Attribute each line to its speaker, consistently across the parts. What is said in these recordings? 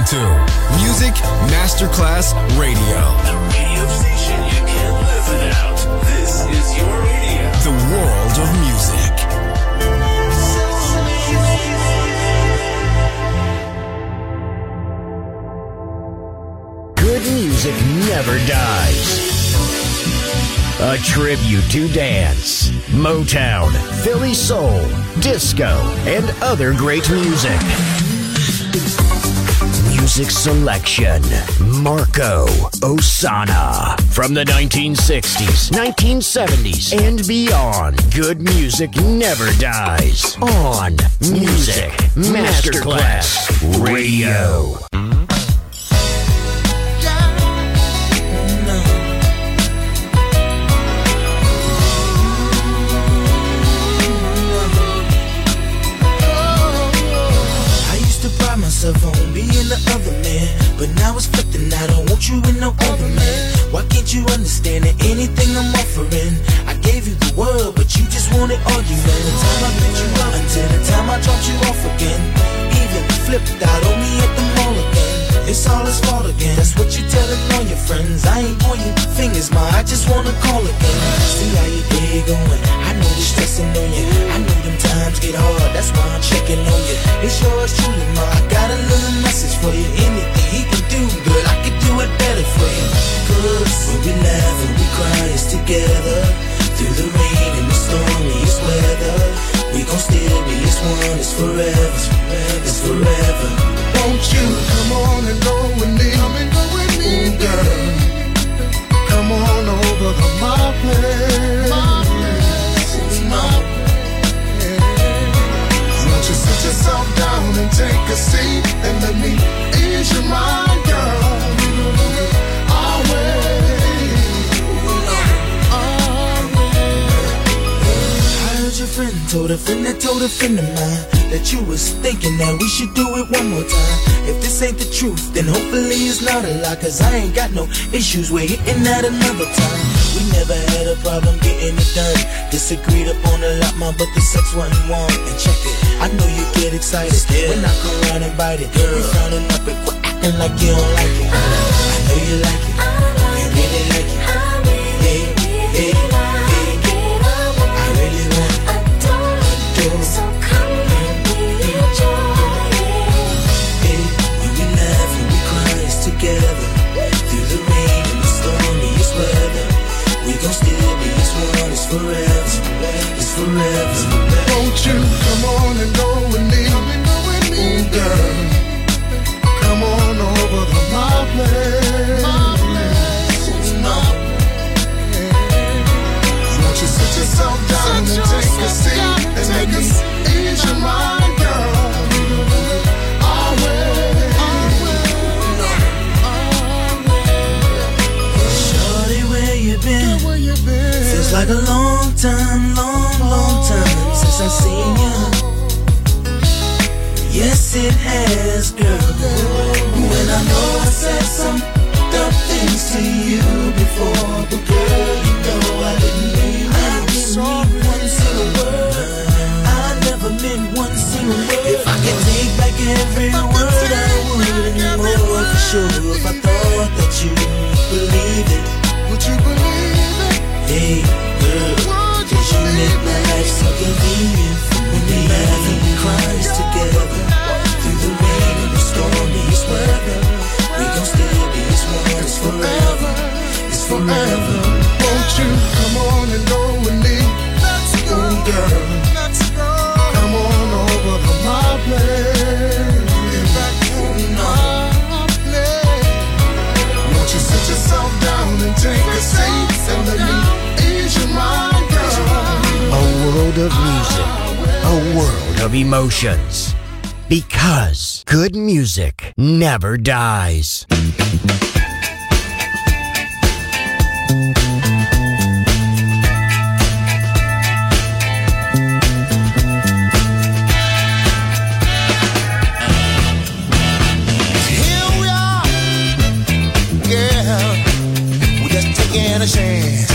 Speaker 1: to Music Masterclass Radio.
Speaker 2: The radio station you can't live without. This is your radio.
Speaker 1: The world of music.
Speaker 3: Good music never dies. A tribute to dance, Motown, Philly soul, disco, and other great music. Music selection, Marco Ossanna. From the 1960s, 1970s, and beyond, good music never dies. On Music Masterclass Radio.
Speaker 4: On being the other man, but now it's flipping. I don't want you with no other man. Why can't you understand that anything I'm offering? I gave you the world, but you just wanted argument. The time I picked you up until the time I dropped you off again. Even flipped out on me at the mall again. It's all his fault again. That's what you telling all your friends. I ain't pointing fingers, ma. I just wanna call again. See how your day going. I know you're stressing on you. I know them times get hard. That's why I'm checking on you. It's yours truly, ma. I got a little message for you. Anything he can do, girl, I could do it better for you. Cause when we laugh and we cry, it's together. Through the rain and the stormiest weather, we gon' still be as one. It's forever. It's forever.
Speaker 5: Won't you come on and go with me? Come and go with me, ooh, girl. Come on over to my place. My place. Won't you sit yourself down and take a seat and let me ease your mind, girl? Our way.
Speaker 4: Your friend told a friend that told a friend of mine that you was thinking that we should do it one more time. If this ain't the truth, then hopefully it's not a lie. Cause I ain't got no issues with hitting that another time. We never had a problem getting it done. Disagreed upon a lot, ma, but the sex wasn't warm. And check it, I know you get excited when I come around and bite it. Girl, you frowning up and quit acting like you don't like it. I know you like it, you really like it. Hey, hey.
Speaker 6: So come and enjoy it.
Speaker 4: Hey, when we laugh and we cry, it's together. Through the rain and the stormiest weather, we gon' still be as one. It's forever. It's forever.
Speaker 5: Won't you come on and go with me? Ooh, girl. Come on over to my place. Won't you sit yourself down and take a seat and let me ease your mind, girl? Our way.
Speaker 4: Shorty, where you been? Feels like a long time, long time since I've seen you. Yes, it has, girl. When I know I said some dumb things to you before, but girl, you know I didn't mean one single word. I never meant one single word. If I could take back every word, I would anymore for sure. If I thought that you believe it,
Speaker 5: Would you believe it?
Speaker 4: hey girl, cause you make my life so convenient. When we laugh and we cry together, through the rain and the stormiest weather, we gon' still be as one. It's forever. It's forever.
Speaker 5: Won't you come on and go with me? Let's go, girl. Let's go. Come on over to my place. Back to my place. Won't you sit yourself down and take a seat and let me ease your mind, girl?
Speaker 3: A world of music, a world of emotions. Because good music never dies.
Speaker 5: A chance.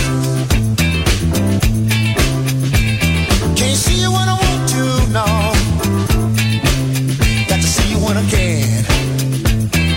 Speaker 5: Can't see you when I want to, no. Got to see you when I can.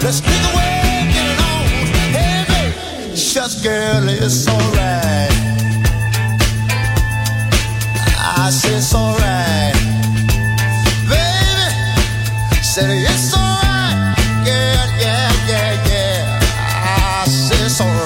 Speaker 5: Let's get the way, get it on. Hey, baby, just girl, it's alright. I said it's alright. Baby, said it's alright. Yeah, yeah, yeah, yeah. I said it's alright.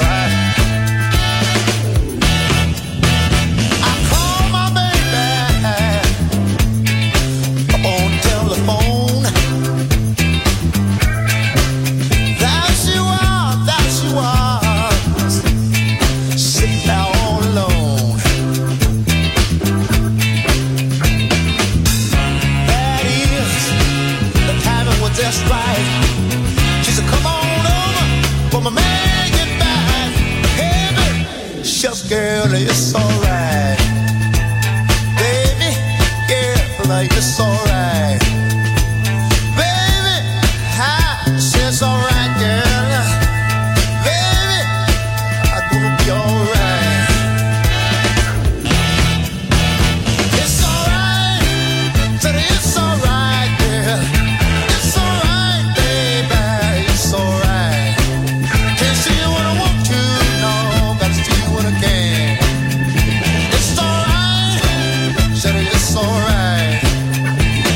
Speaker 5: Just right. She said, come on over, for my man get back. Hey, baby, shucks, girl, it's alright. Baby, girl, it's alright. Baby, I said it's alright, girl. Baby, I'm gonna be alright. It's alright, said it's alright, girl. It's alright.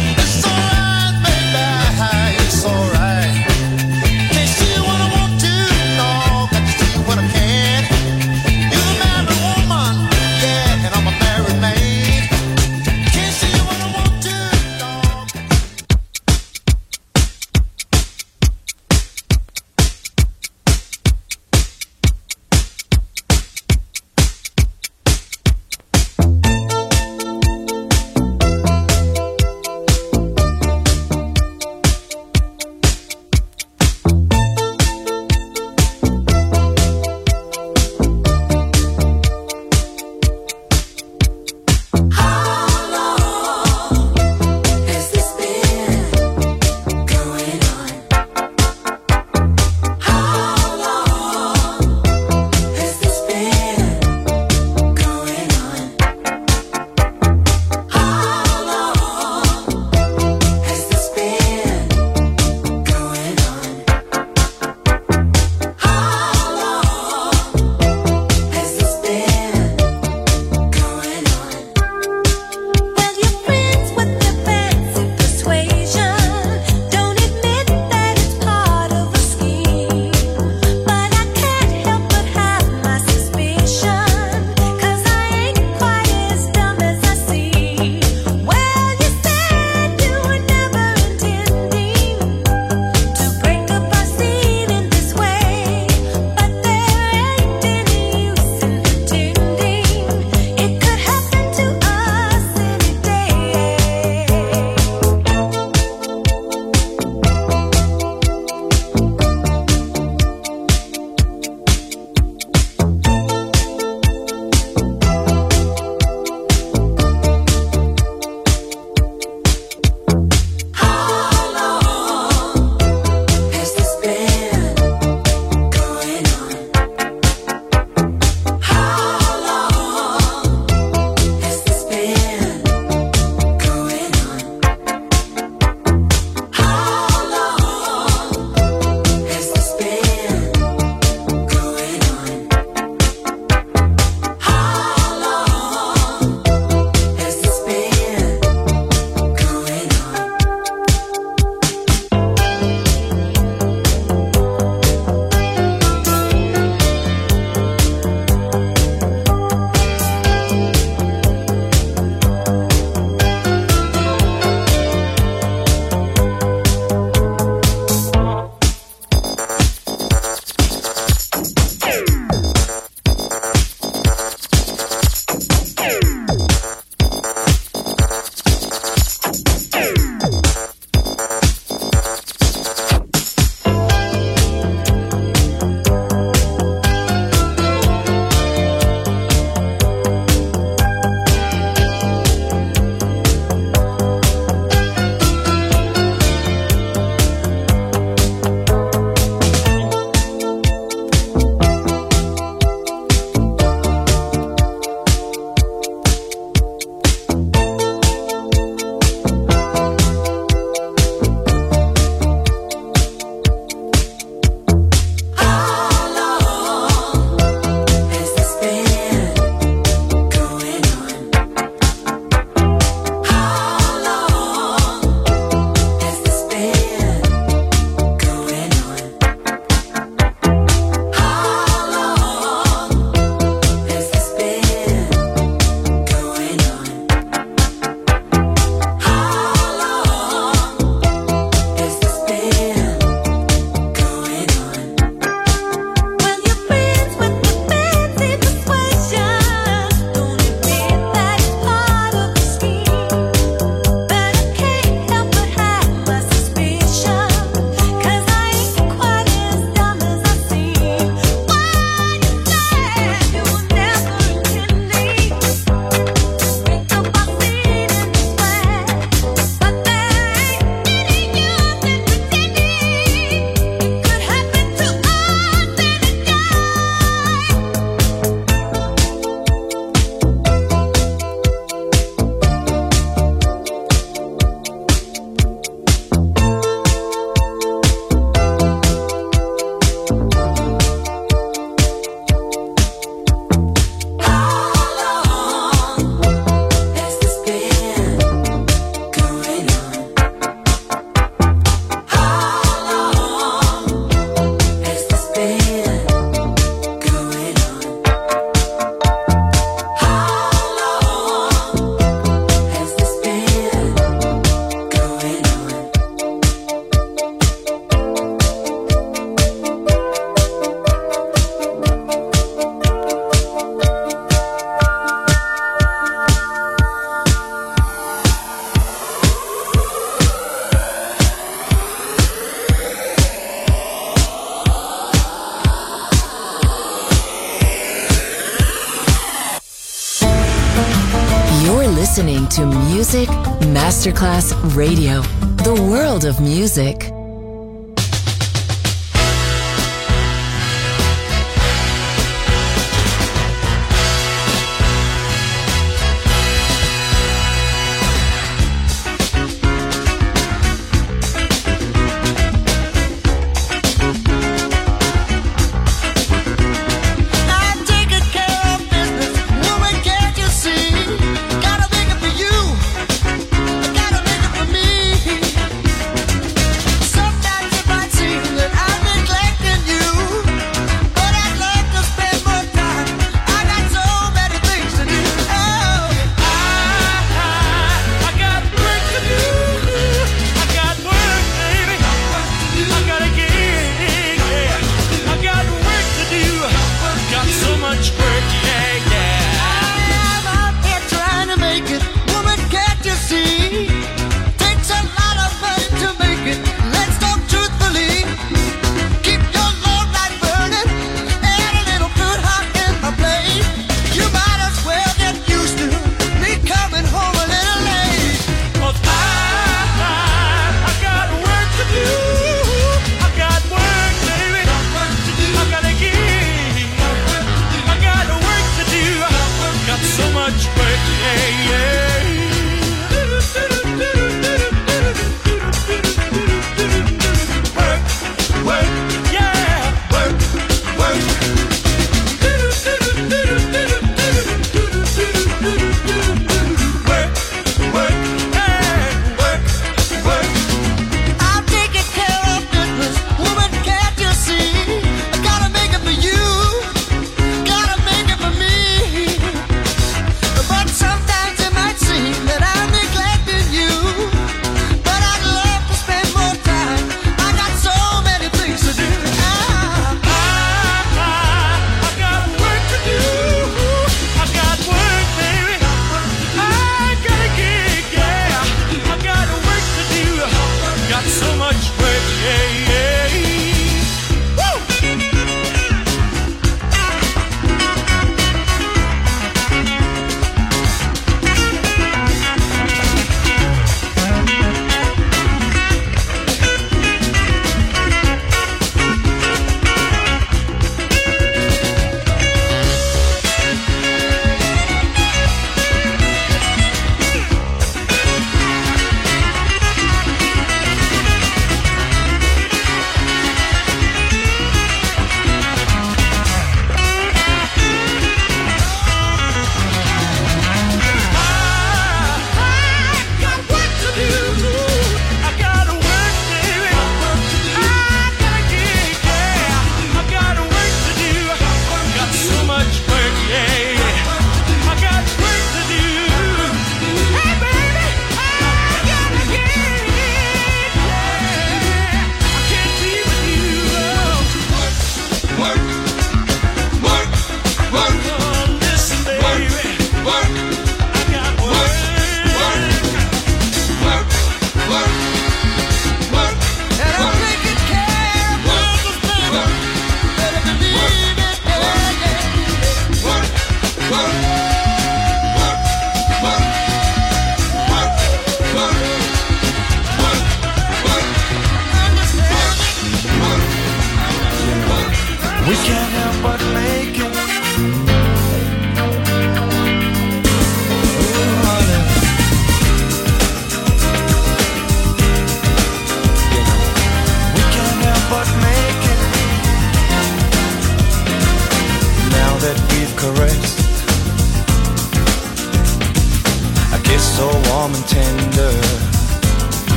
Speaker 7: listening to Music Masterclass Radio, the world of music.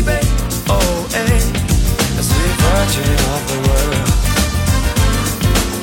Speaker 8: Of the world.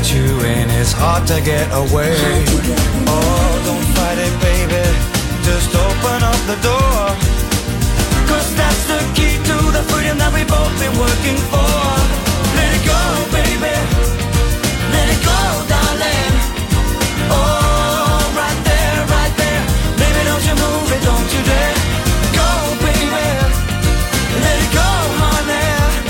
Speaker 8: at you and it's hard to get away. Oh, don't fight it, baby, just open up the door. 'Cause that's the key to the freedom that we've both been working for. Let it go, baby, let it go, darling. Oh, right there, baby, don't you move it, don't you dare. Go, baby, let it go, honey.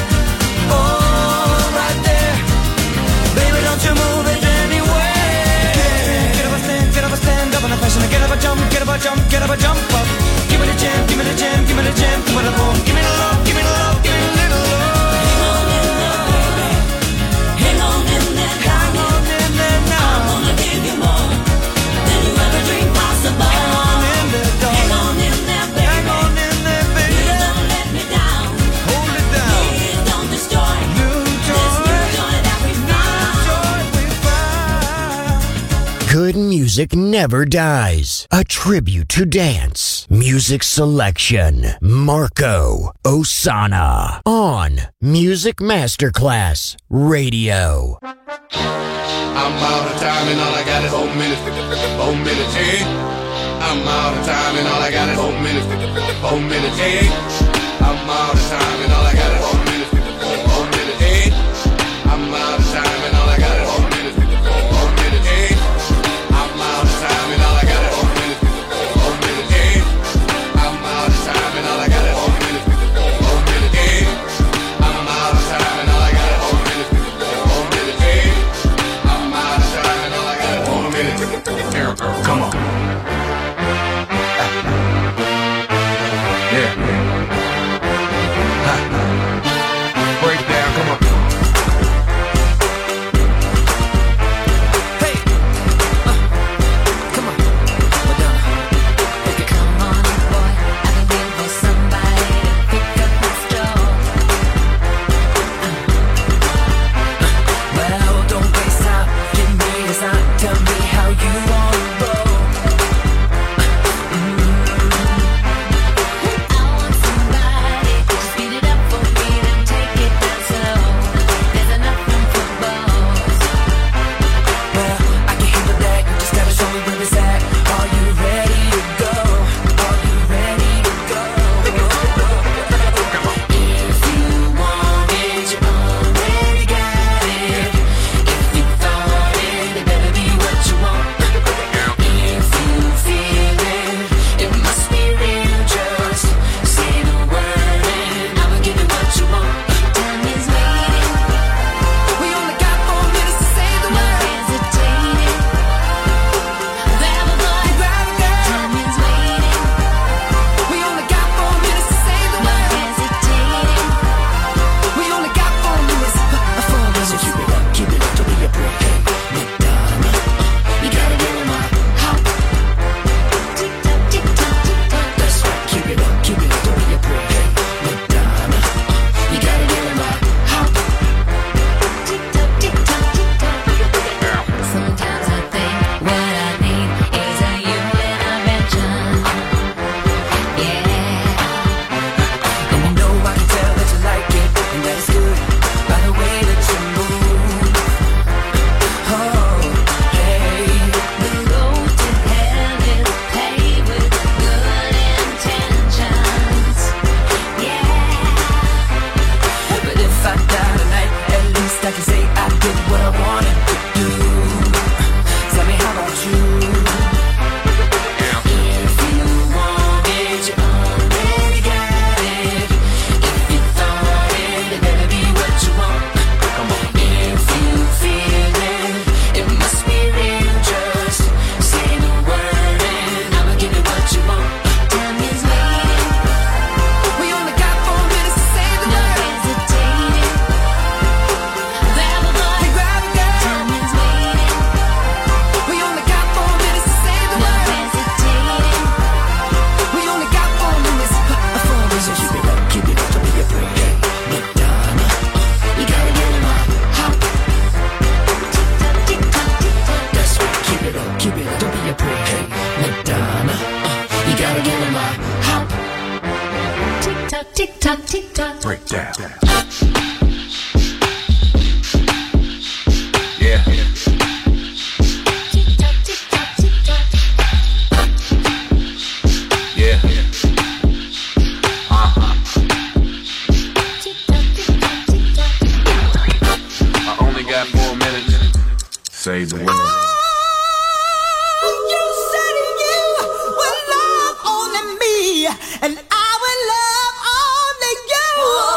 Speaker 8: Oh, right there, baby, don't you move it anywhere. Get up a stand up on a passion. Get up a jump, get up a jump, get up a jump up. Give me the jam, give me the jam, give me the jam, give me the boom, give me the love, give me the love, give me a little love. Hang on in there, baby. Hang on in there, hang on in there now. I'm gonna give you more than you ever dreamed possible. Hang on in there, darling. Hang on in there, baby. Hang on in there, baby. Please don't let me down. Hold it down. Please don't destroy this new joy that we found.
Speaker 3: Good music never dies. A tribute to dance. Music selection. Marco Ossanna. On Music Masterclass Radio.
Speaker 9: I'm out of time and all I got is 4 minutes. 4 minutes, hey. I'm out of time and all I got is 4 minutes. 4 minutes, hey. I'm out of time and all I got is 4 minutes. 4 minutes, hey. I'm out of time and all I got is 4 minutes. 4 minutes, hey. I'm out of time and all I got is 4 minutes. 4 minutes, hey. I'm out of time and all I got is 4 minutes. 4 minutes, hey. I'm out of time and all I got is 4 minutes. 4 minutes, hey. I'm out of time and all I got is 4 minutes. Here, girl, come on. Yeah. Break down, come on.
Speaker 4: Hey, come on, Madonna. Okay. Come on, boy, I've been waiting for somebody to pick up my straw. Well, don't waste time, give me a sign, tell me how you wanna roll. I want somebody to speed it up for me, then take it down slow. There's enough room for both. Well, I can handle that, you just gotta show me where it's at. Are you ready to go? Are you ready to go? If you want it, you already got it. If you thought it, it better be what you want. If you feel it, it must be real. Just say the word and I'ma give you what you want. Time is waiting. We only got 4 minutes to say the word. No hesitating. Grab a boy, grab a girl. Time is waiting. We only got 4 minutes to say the word. No hesitating. We only got 4 minutes. 4 minutes. So keep it up, don't be afraid. Hey, Madonna, you gotta give it my hop. Tick tock, tick tock, tick tock. That's right, keep it up, don't be afraid. Hey, Madonna, you gotta give it my hop. Tick tock, tick tock, tick tock. Sometimes I think what I need is a human intervention. Yeah. And you know I can tell that you like it, and that it's good by the way that you move. Oh, hey. The road to hell is paved with good intentions. Yeah. But if I die tonight, at least I can say I did what I wanted to do. Tell me, how about you? If you want it, you already got it. If you thought it, it better be what you want. Come on. If you feel it, it must be real. Just say the word and I'ma give you what you want. Time is waiting. We only got 4 minutes to say the word. No hesitating. Grab a boy, grab a girl. Time is waiting. We only got 4 minutes to say the word. No hesitating. We only got 4 minutes. 4 minutes. So keep it up, don't be afraid. Hey, Madonna, you gotta give it my hop. Tick tock, tick tock, tick tock. That's right, keep it up, don't be afraid. Hey, Madonna, you gotta give it my hop. Tick tock, tick tock, tick tock.
Speaker 9: Break down. Yeah.
Speaker 10: save the world.
Speaker 8: You said you would love only me, and I will love only you.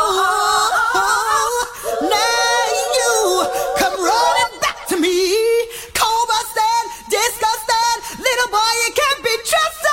Speaker 8: Now you come running back to me, cold busted, disgusted, little boy, you can't be trusted.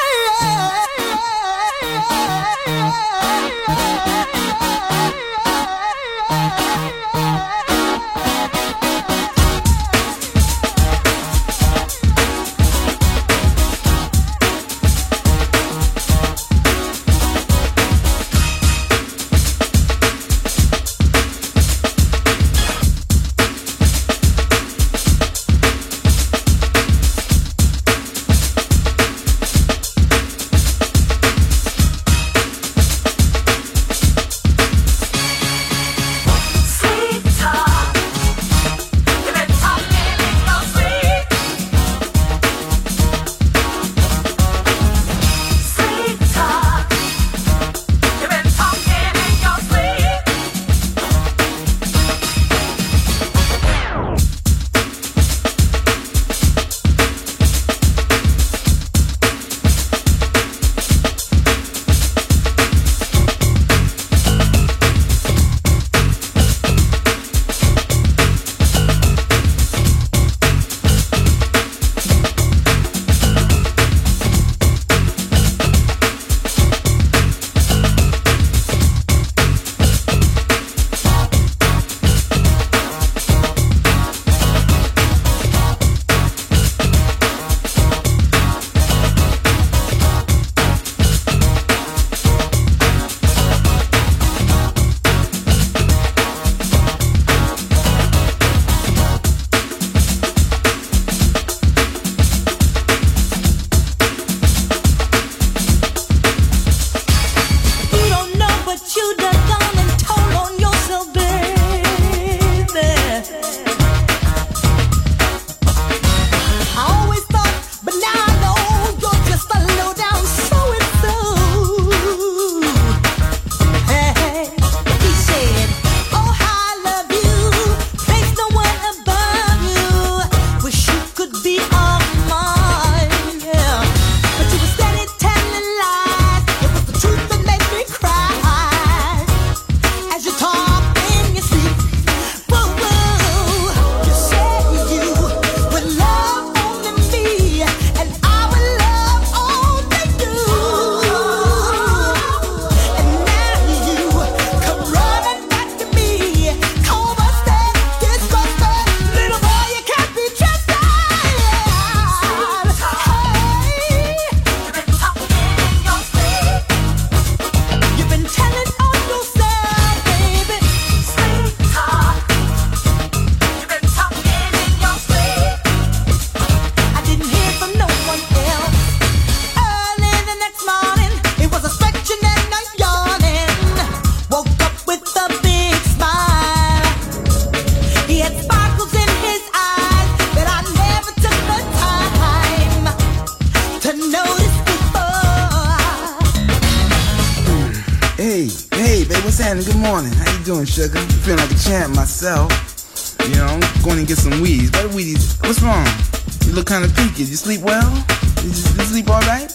Speaker 11: Good morning. How you doing, sugar? Feeling like a champ myself. You know, I'm going to get some weeds. What weeds? What's wrong? You look kind of peaky. You sleep well? You sleep all right?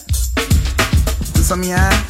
Speaker 11: Is something in your eye?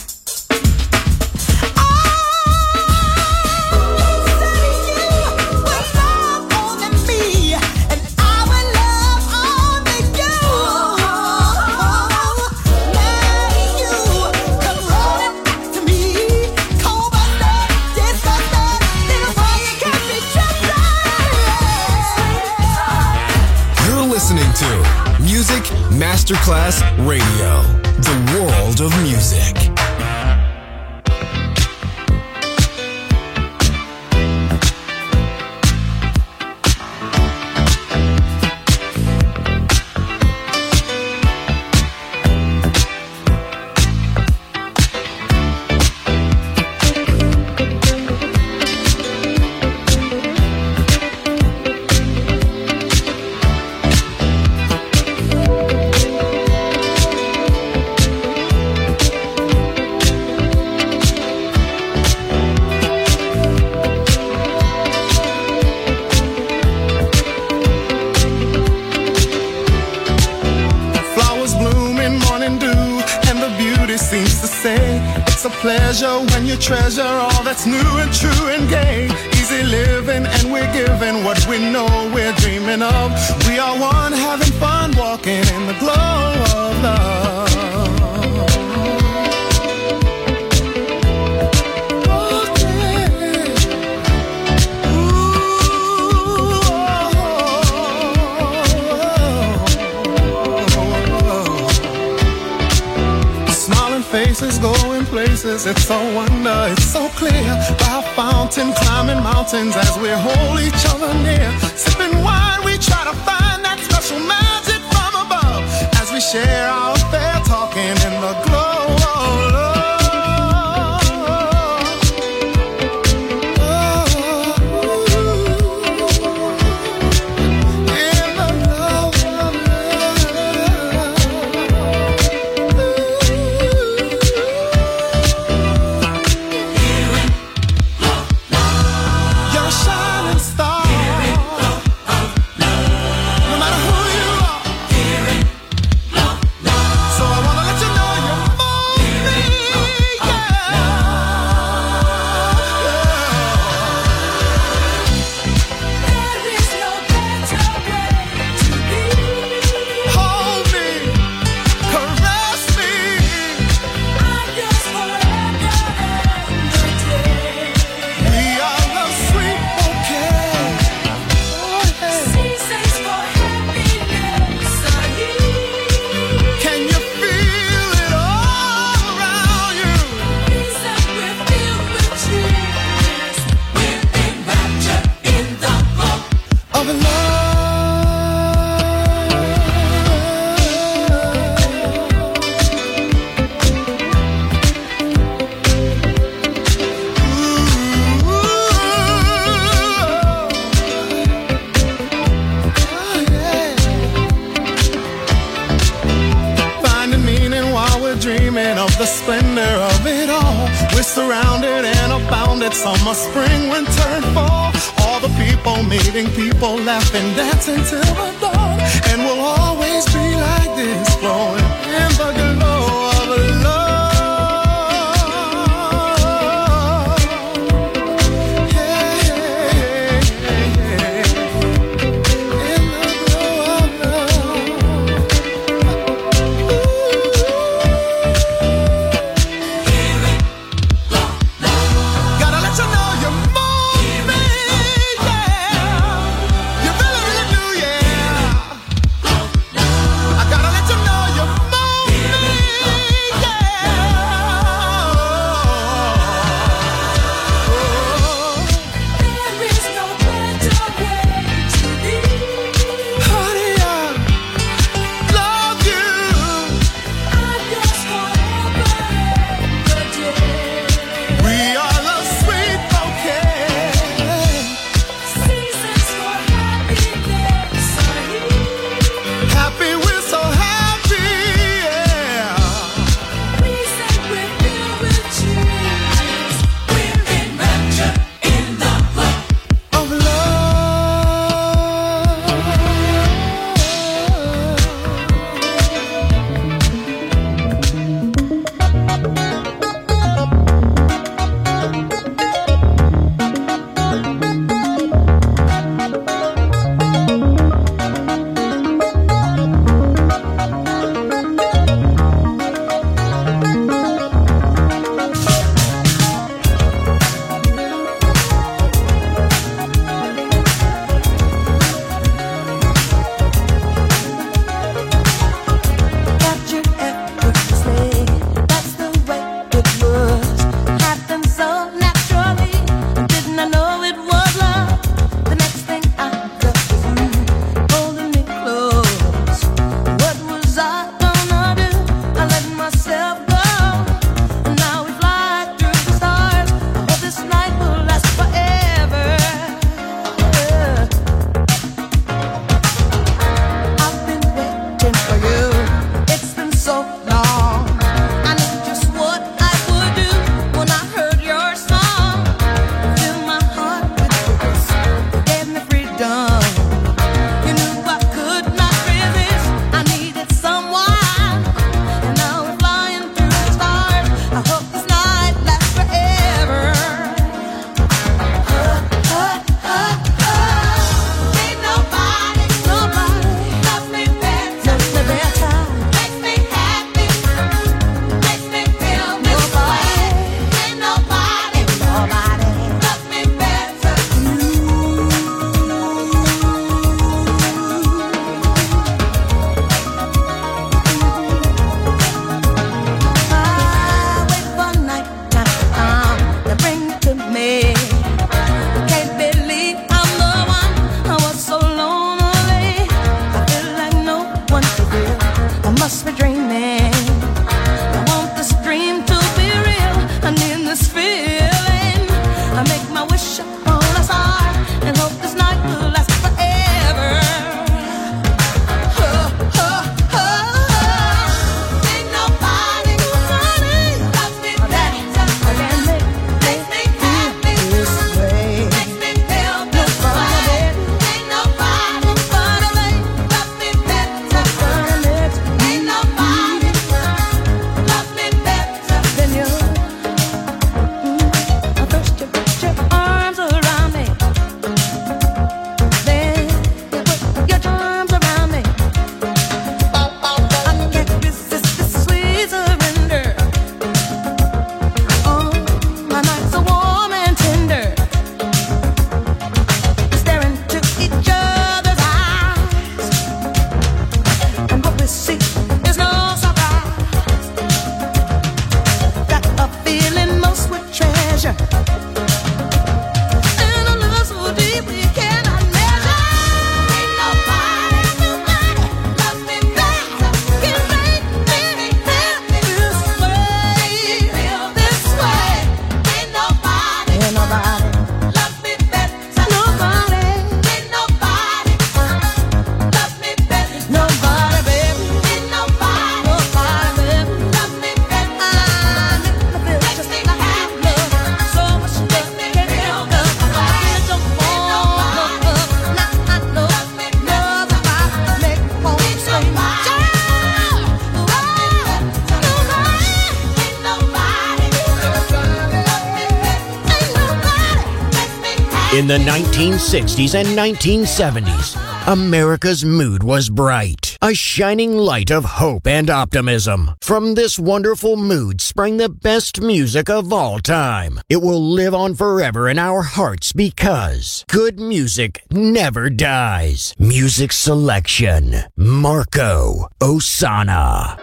Speaker 1: Music Masterclass Radio, the world of music.
Speaker 5: pleasure when you treasure all that's new and true and gay. Easy living and we're giving what we know we're dreaming of. We are one having fun walking in the glow of love. Faces going places, it's so wonder, it's so clear. By a fountain, climbing mountains as we hold each other near. Sipping wine, we try to find that special magic from above. As we share our affair, talking in the glow of love. The splendor of it all. We're surrounded and abounded. Summer, spring, winter, and fall. All the people meeting people, laughing, dancing till the dawn. And we'll always be like this, flowing in the glow of love. Yeah, yeah, yeah, yeah. In the glow of love.
Speaker 3: In the 1960s and 1970s, America's mood was bright, a shining light of hope and optimism. From this wonderful mood sprang the best music of all time. It will live on forever in our hearts because good music never dies. Music selection, Marco Ossanna.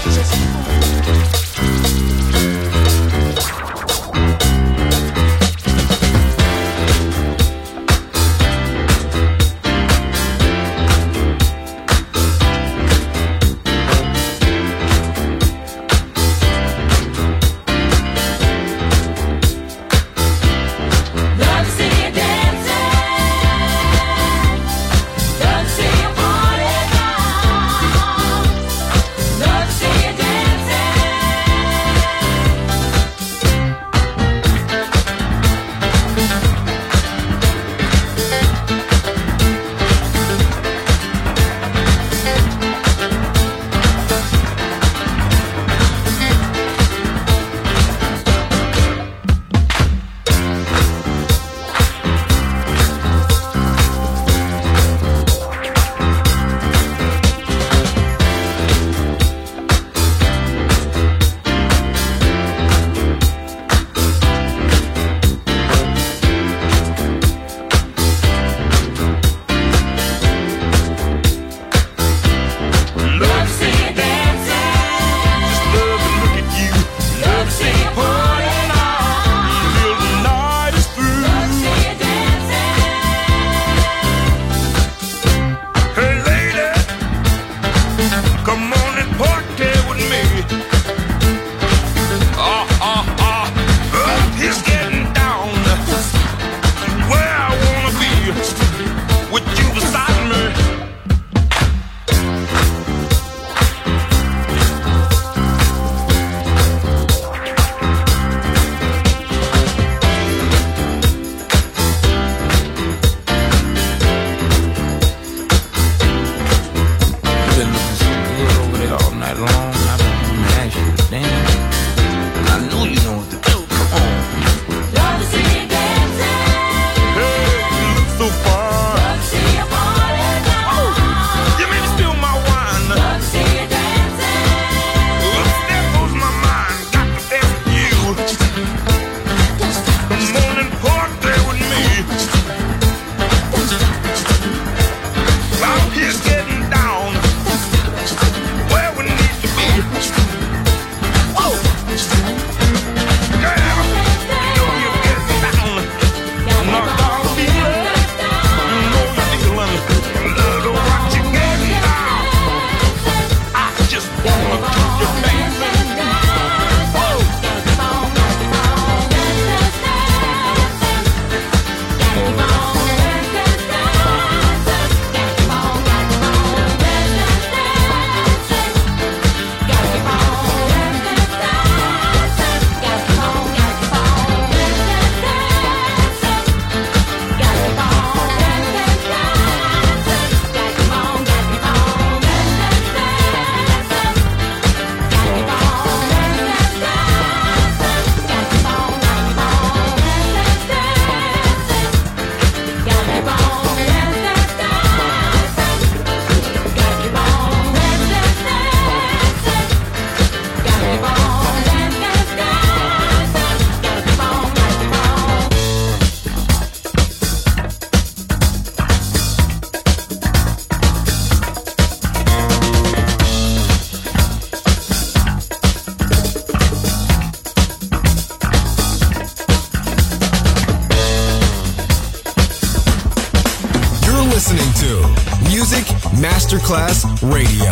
Speaker 1: listening to Music Masterclass Radio,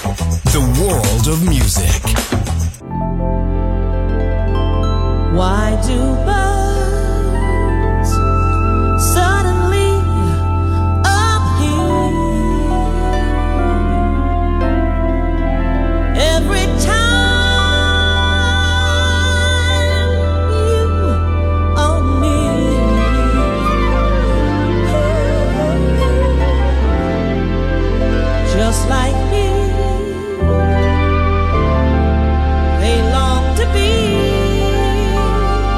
Speaker 1: the world of music.
Speaker 10: Why do birds suddenly appear every time you are near? Just like me, they long to be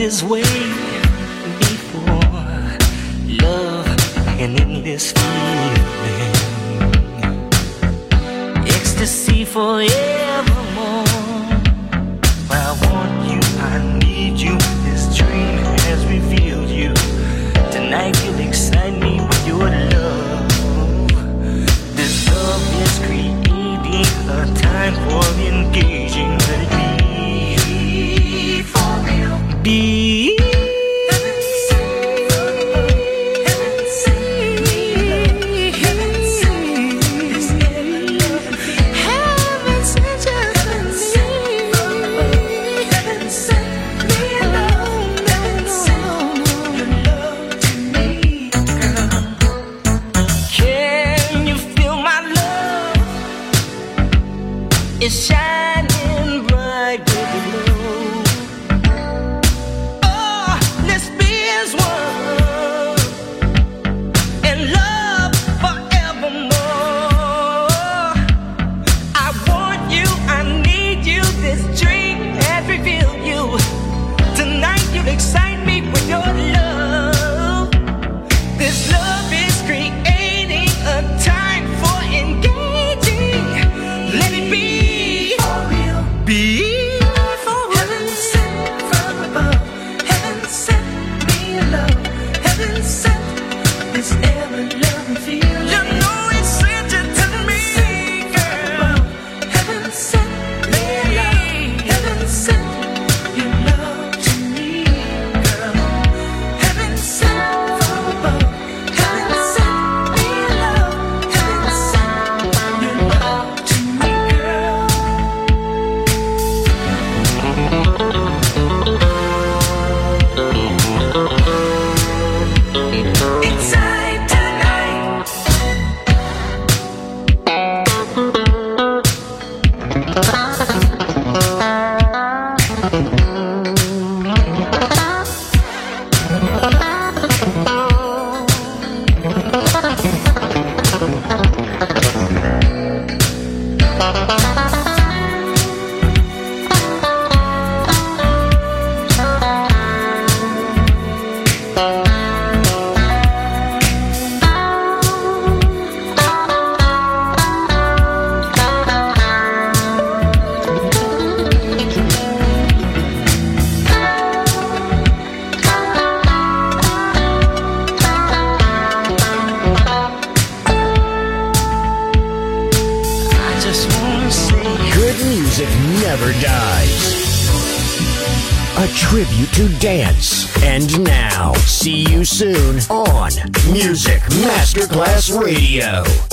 Speaker 8: this way before. Love, an endless feeling, ecstasy forevermore. I want you, I need you. This dream has revealed you. Tonight you'll excite me with your love. This love is creating a time for engaging. Let it be for real. Be. It's shining bright with glow. Oh, let's be as one in love forevermore. I want you, I need you. This dream has revealed you. Tonight you'll excite me with your love. This love is creating a time for engaging. Let it be. Be for heaven sent from above. Heaven sent me love. Heaven sent this ever loving feeling. You know it's sent it to me, girl. Heaven sent me love. Heaven sent your love to me, girl. Heaven sent from above. Heaven sent me love. Heaven sent your love to me, girl. Inside tonight.
Speaker 3: Never dies. A tribute to dance. And now, see you soon on Music Masterclass Radio.